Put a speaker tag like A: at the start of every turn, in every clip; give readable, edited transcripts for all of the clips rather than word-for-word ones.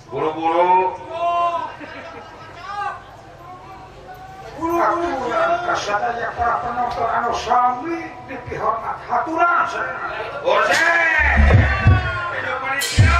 A: Buru-buru. Aturan kasadaya para penonton anu sami dipihormat haturan sadayana. Ose. Hidup panitia.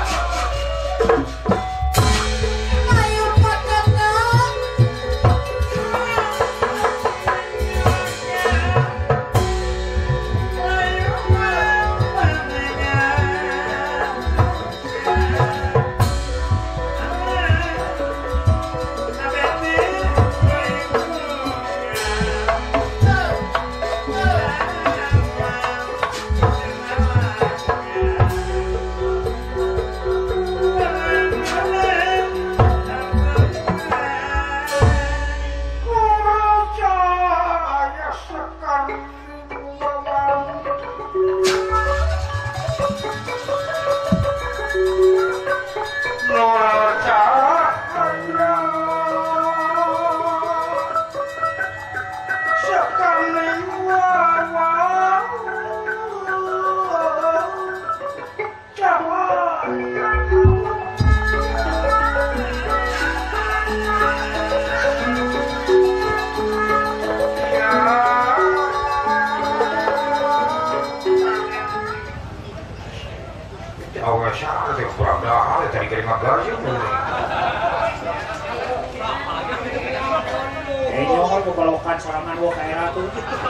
B: Kebalokan salaman gua kayak ratu.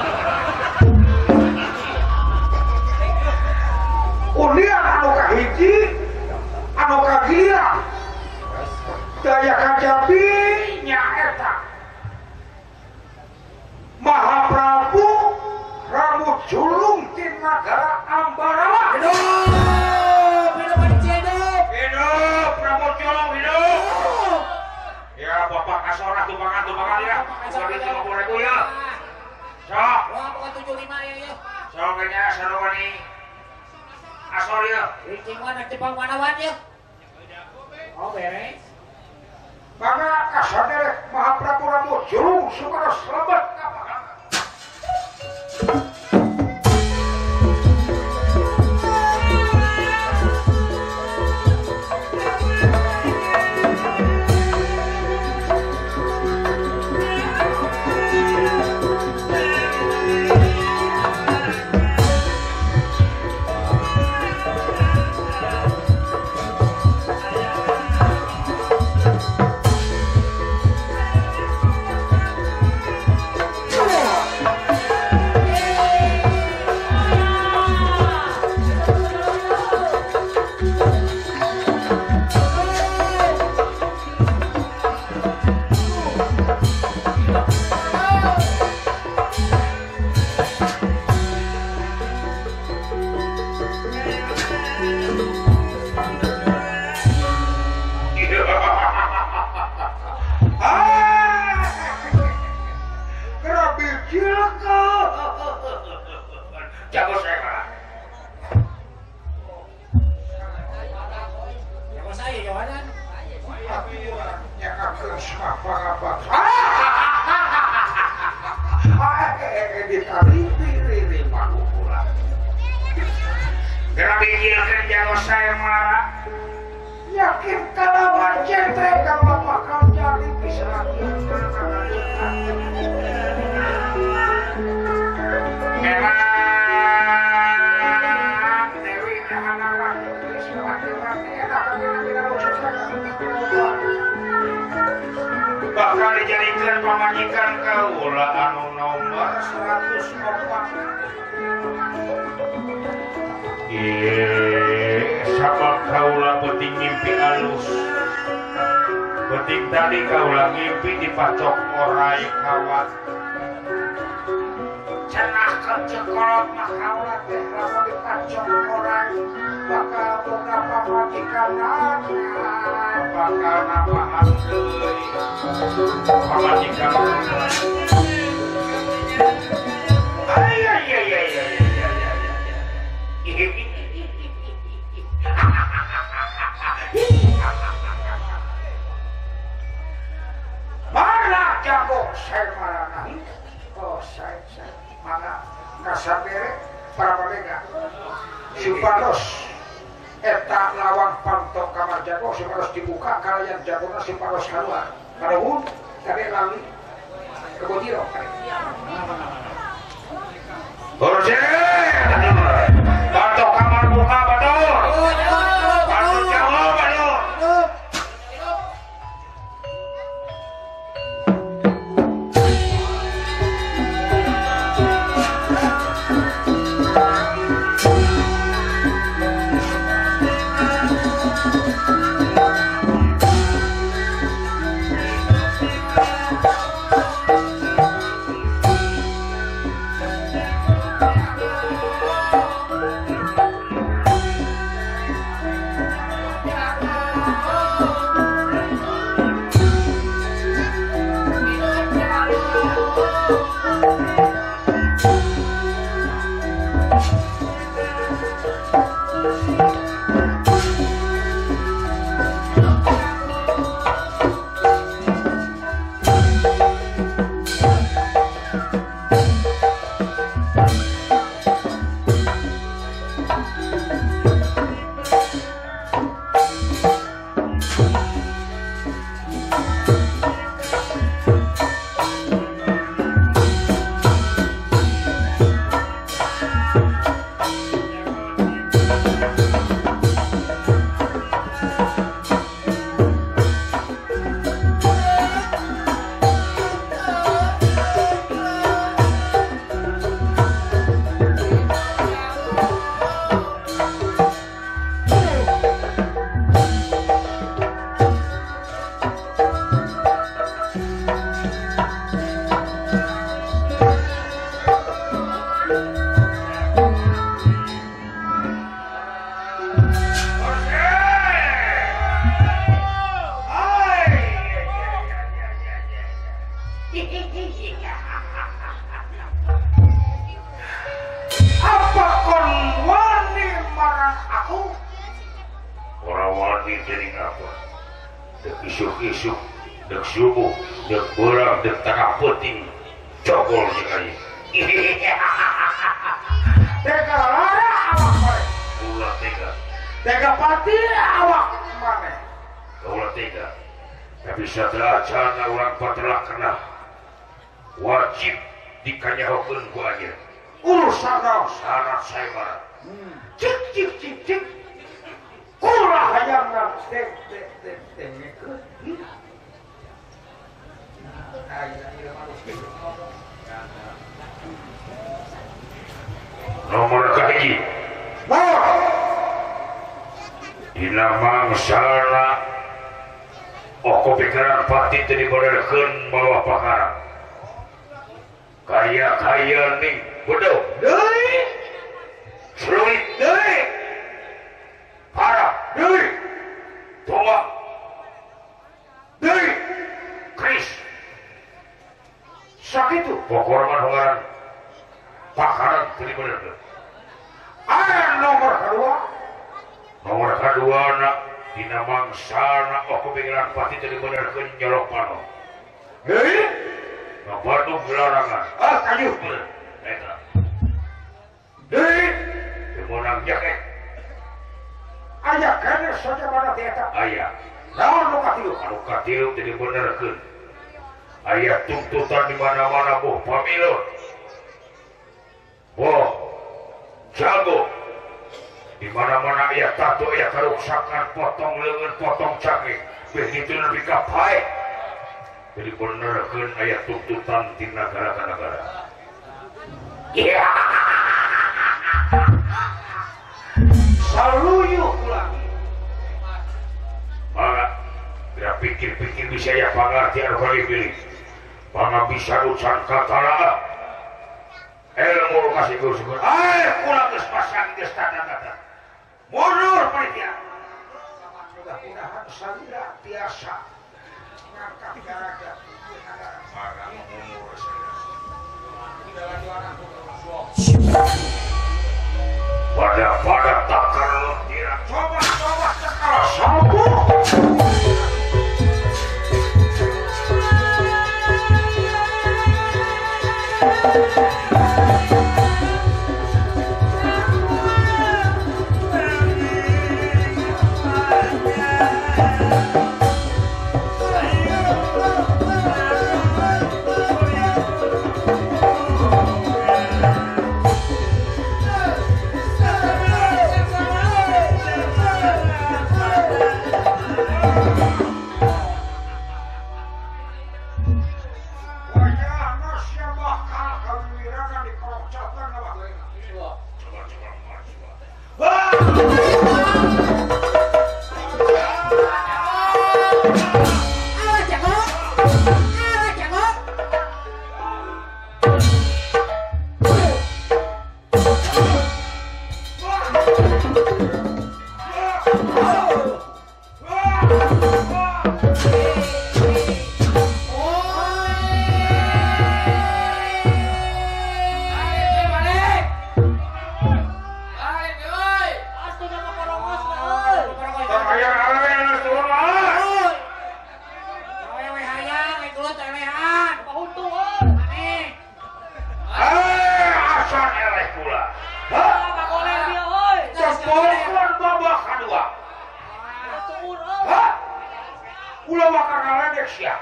A: Ulian anu kahiji, anu kagira. Daya kajabi nyaeta. Mahaprabu rambut julung ti nagara Ambarawa.
B: Hidup, hidup hidup.
A: Hidup, rambut julung hidup. Ya bapak kasorah tumpangan ya. Sorry 50.000 ya. Sok.
B: Wah, bukan 75 ya.
A: Sok nya sarowani. Asor ya.
B: Ricing mana Jepang manawan ya. Oh, beres.
A: Maka kasadere Mahaprabu rambut julung supados lebat kapakan. Yakin kalawan centre kalau bakal jadi bisa. Memang Dewi anak-anak bakal dijadikan pamajikan kaula anu nomor 104. Sabab kaula penting ngimpi alus. Penting tadi kaula ngimpi dipacok orai kawat. Cenah kecekolot mah kaula teh lamun dipacok orai bakal boga pamajikan bakal napahan deui. Pamajikan. Mana jago saya marana. Oh saya mana kasabere para pelega. Supados eta lawang pantok kamar jago separos dibuka kalian jagona separos haluan karuhun kade lali kebotiro Borje batok kamar buka batok batok jago batok apa kon wani marang aku ora wani dening apa dek isuk-isuk dek subuh dek beurang dek tengah penting cokol sekali tega lara awak mare ulah tega pati awak mare ulah tega tapi setelah jana orang patelah kena wajib dikanyahokeun ku anjeun urusan syarat saya marah cik kurang hayang dek nomor kahiji dina mangsana oko pikiran pati teu dibenerkeun bawah pakarang kaya ning bodoh deui sulit deui parah deui tua deui kris sakitu pokokna hongaran pakaran teu dibenerkeun nomor kedua na dina mangsana oko pikiran pati teu dibenerkeun nyolok pano deui Bandung gelarangan kayu eta deui kemonang jaket aya kana saja mana eta aya naon nu katilu teu dibenerkeun aya tuntutan di mana-mana boh pamilon boh jago di mana-mana aya tato aya karuksakan potong leungeun potong cake begitu lebih ka pae jadi benerkeun aya tuntutan ti negara ka negara iya saluyu ulah maka bila pikir-pikir bisa ya pangarti anu kali pilih pangabisa ucan katara ilmu kasih gusukur kulang geus pasang geus tanda-tanda mundur panitia mudah-mudahan salira biasa ngangkat garaga maka mundur pada takar tidak coba cekal sambung udah makan ngaledek sia.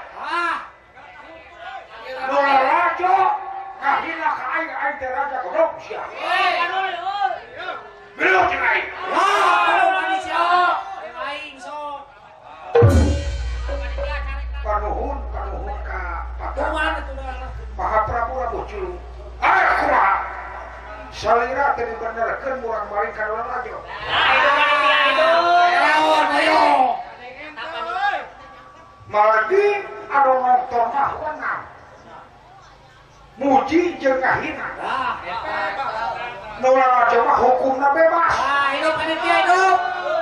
A: Nula rajo kahina ka aing teh raja godok sia. Belum cing aing.
B: Aing sok.
A: Kanuhun ka Patar.
B: Kumaha tuh dah?
A: Maha Prabu Rabucu. Ayo kumaha. Salira teh dibenerkeun murang maling ka Nula rajo. Ayo. Mardi anu nonton mah wenang. Muji jeung ngahina. Nula rajo mah hukumna bebas.
B: Hidup panitia hidup.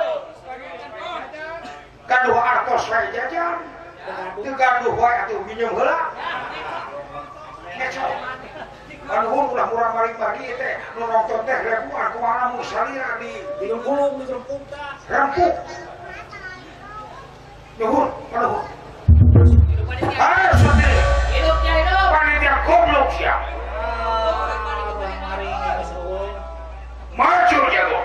A: Gaduh artos wae jajan. Teu gaduh wae atuh minjem heula. Ngeco. Anu ulah murang maling bagi teh nu nonton teh ribuan kumaha mun salira di
B: Gulung di rempuk dah.
A: rempuk. Nuhun, nuhun. Ayo sate.
B: Hidupnya hidup.
A: Panitia goblok sia. Maju jago.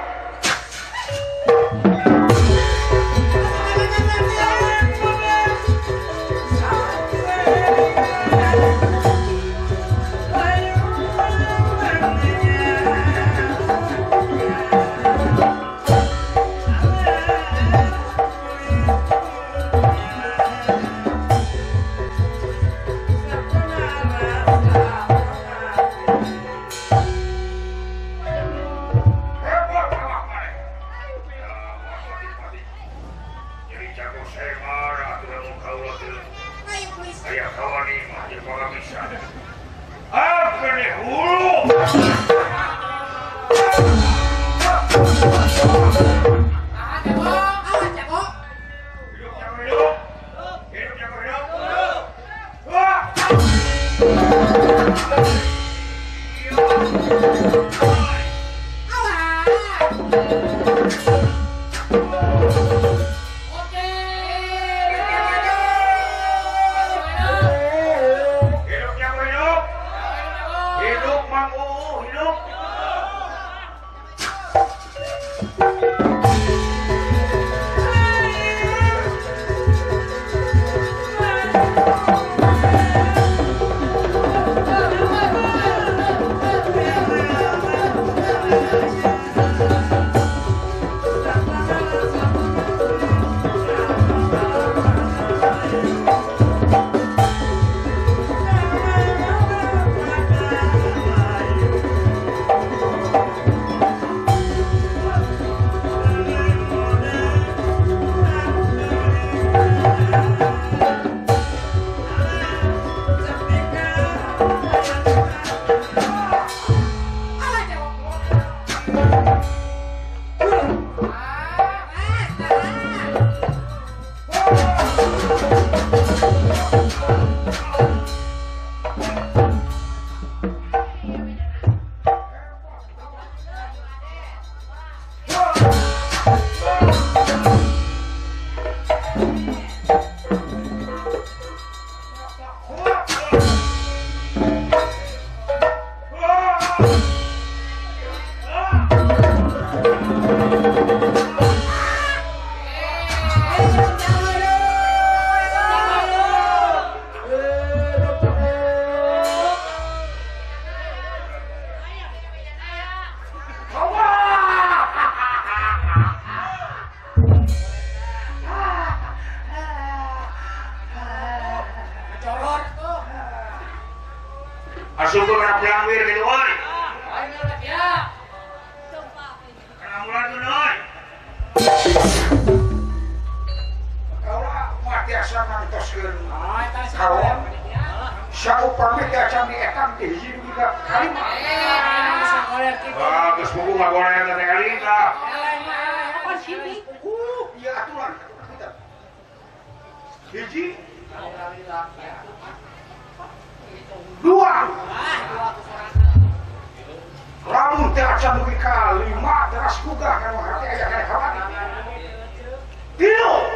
A: Asup kena pelangwir gitu oi. Kena mulan tuh oi. Kaulah mati asa mantoskeun. Kawan. Syau pamit acan di etam di hiji juga kalimah. Geus buku ngagorean teh elinga.
B: Apa sih ini?
A: Iya aturan. Hiji. Dua. Lamun teh acan dugi ka 5 teras gugah kana hati aya kana kawan. 3.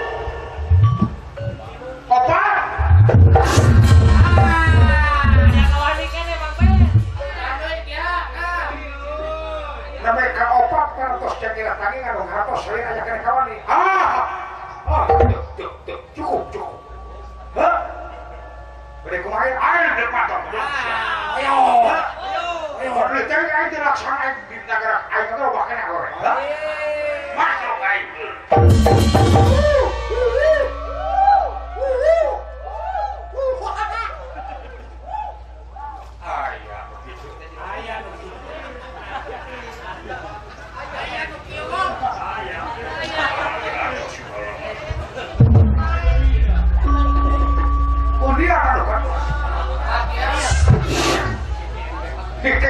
A: 4. Namanya ka 4 parantos jakira tangi nganu hatos seueur aya kana kawan ni. Cukup.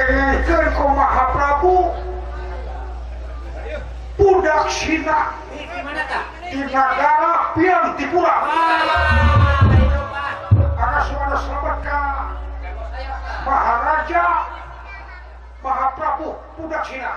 C: dipilihkeun ku Mahaprabu budak Sina
B: Di mana kak?
C: di negara Piantipura.
B: Itu pak.
C: Karena suara selamat ka Maharaja Mahaprabu budak Sina.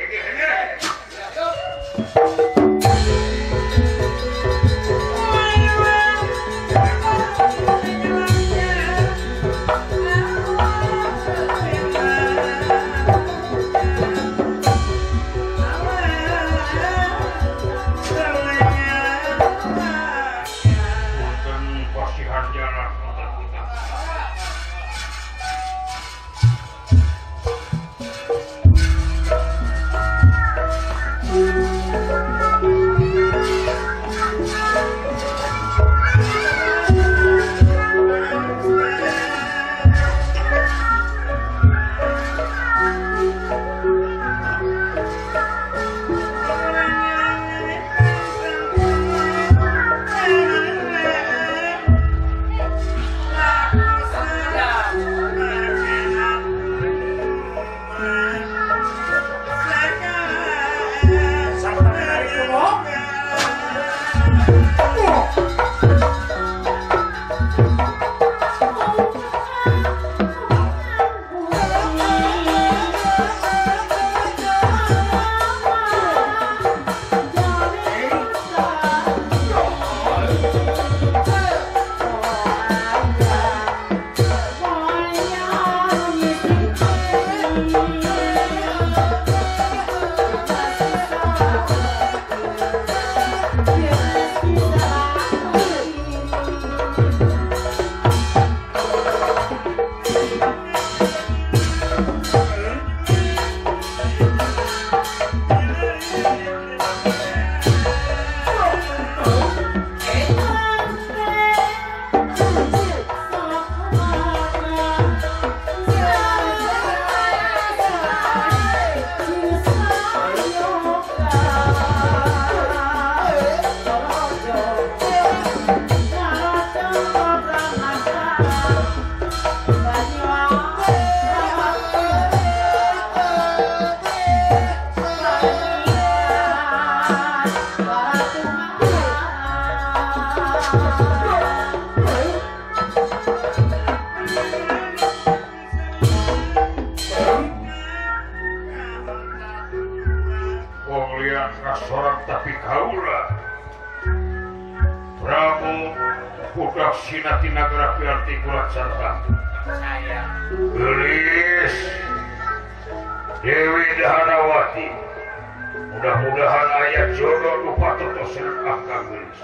A: Seorang tapi kaulah Prabu budak Sina ti nagara Piantipura Santang.
B: Saya.
A: Gelis Dewi Dahanawati. Mudah-mudahan ayat jodoh nu patotosan akang gelis.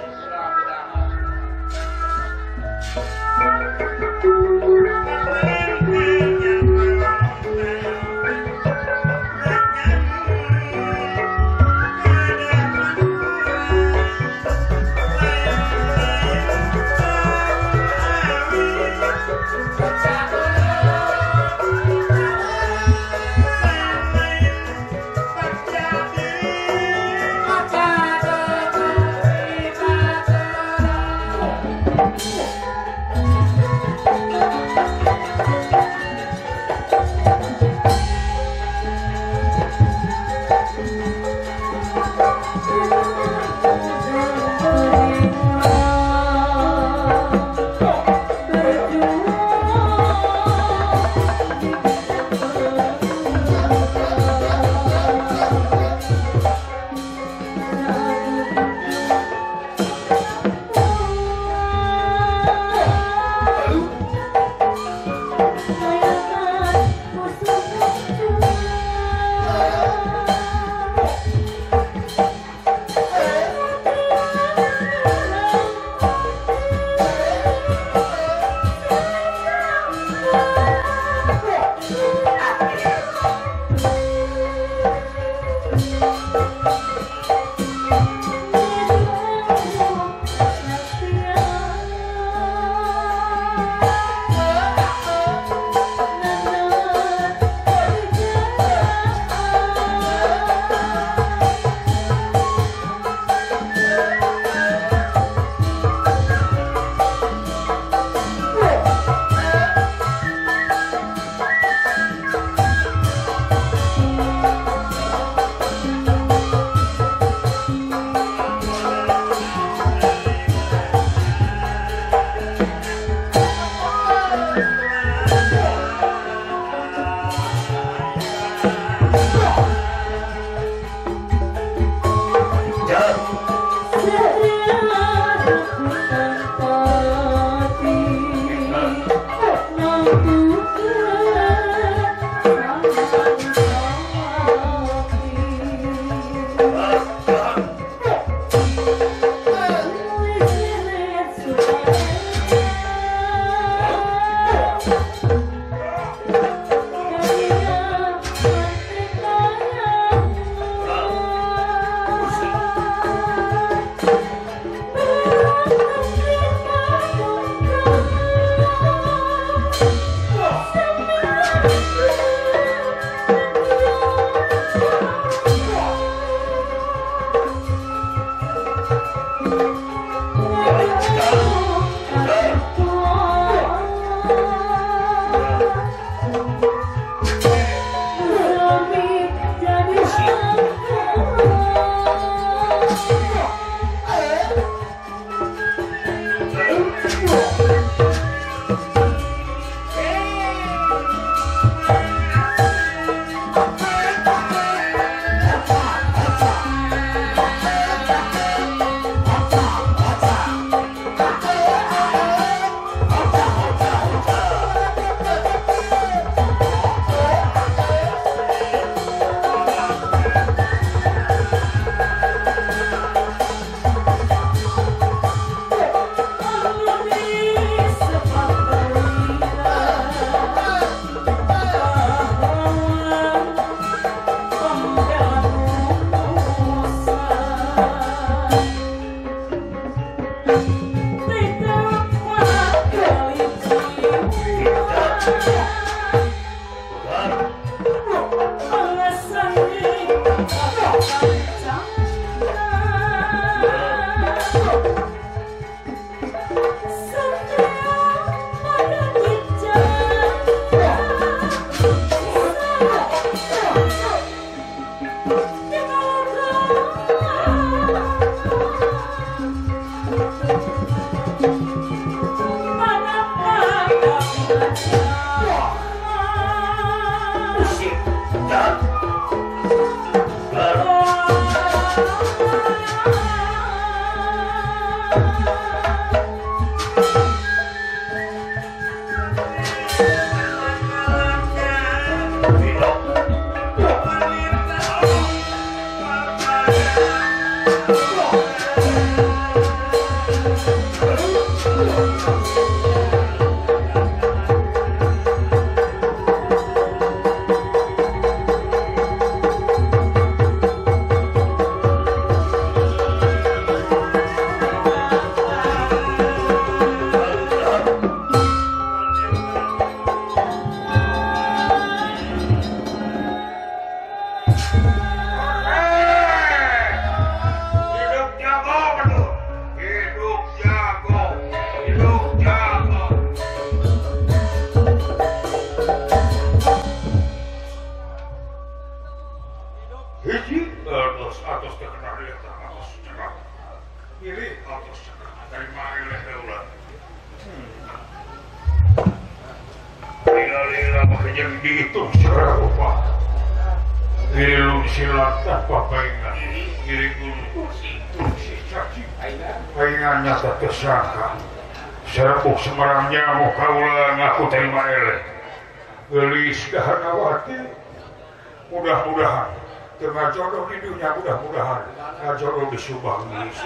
A: Semarangnya mau kaulah ngaku terima eleh gelis dahanawati mudah-mudahan tengah jodoh di dunia mudah-mudahan jodoh di Subang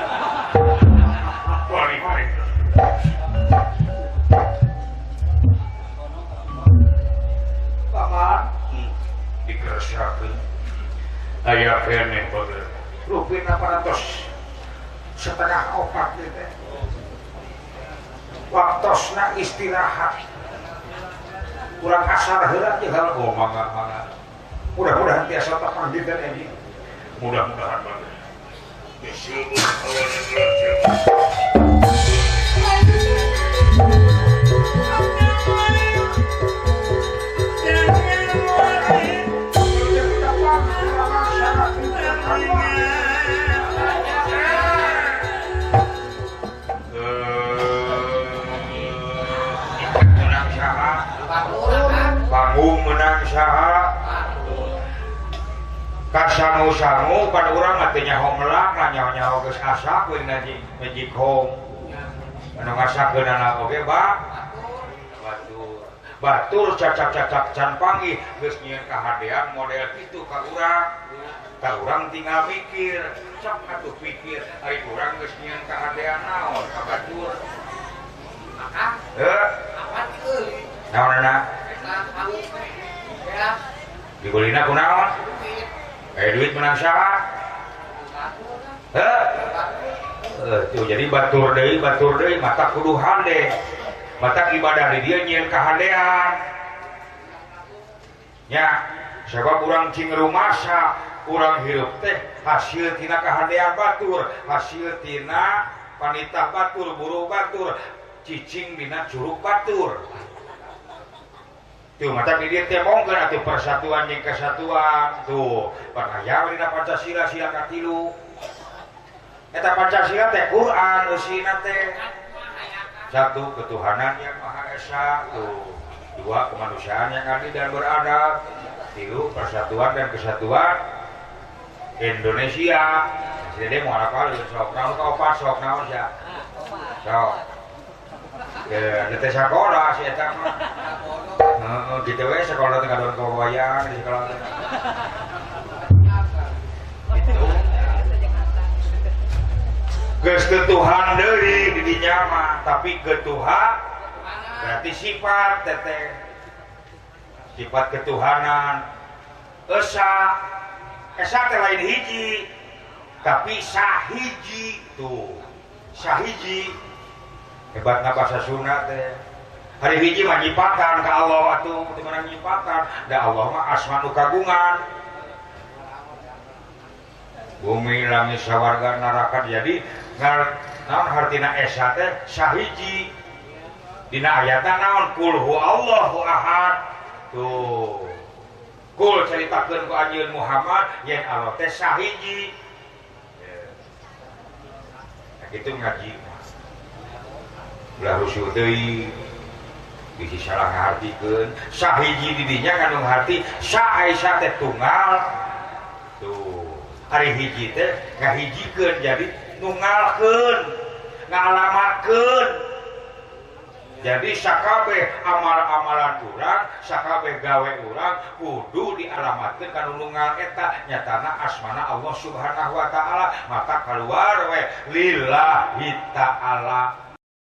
A: balik
C: paman
A: dikeresakeun aya kene pada
C: rupin 800 setengah opat gitu waktosna istirahat kurang kasar heula jeung hal mangga mudah-mudahan tiasa tepan dinten ini
A: mudah-mudahan banget disebut panggung menang saha kasangu-sangu pada urang artinya homelak nyaho-nyaho geus asa kuing magic home anu ngasakeun anak oge batur cacak-cacak can panggih geus nyieun kahadean model kitu ka urang tinggal mikir sok atuh pikir ari urang geus nyieun kahadean naon ka batur maka apa kieu naonana dibulina kunaon? Duit menang saha? Tuh jadi batur deui mata kudu hande. Mata ibadah di dia nyieun kahandean. Nya, sabab urang cing rumasa, urang hirup teh hasil tina kahandean batur, hasil tina panitah batur, buru batur, cicing dina curug batur. Tuh mata dia temongkeun atuh persatuan jeung kesatuan. Tuh, panaya dina Pancasila sila katilu. Eta Pancasila teh Quran usina teh. Satu, ketuhanan yang Maha Esa. Tuh. Dua, kemanusiaan yang adil dan beradab. Tilu, persatuan dan kesatuan Indonesia. Jadi mau apa lu sok naon ka opat sok naon sia. Sok. Teh sakola si eta mah. Gitu we sekolah teh kadon kawayang di sekolah teh. Itu. Geus ketuhan deui di dinya mah, tapi ketuhan berarti sifat teteh. Sifat ketuhanan. Esa teh lain hiji, tapi sahiji tuh. Sahiji. Hebatna bahasa Sunda teh. Hari hiji mah nyipatan ka Allah atuh, teu meunang nyipatan. Da Allah mah asma nu kagungan. Bumi langit sawarga neraka jadi naon hartina esa teh sahiji. Dina ayatna naon qul huwallahu ahad. Tuh. Qul caritakeun ku anjeun Muhammad yen Allah teh sahiji. Nah, kitu ngaji.
C: ulah rusuh deui bisi salah ngahartikeun sahiji di dinya kandung harti sa Aisyah teh tunggal tuh hari hiji teh ngahijikeun jadi nunggalkeun ngalamatkeun jadi sakabeh amal-amalan urang sakabeh gawe urang kudu dialamatkeun kana nunggal eta nyatana asmana Allah Subhanahu wa taala maka keluar we lillahi ta'ala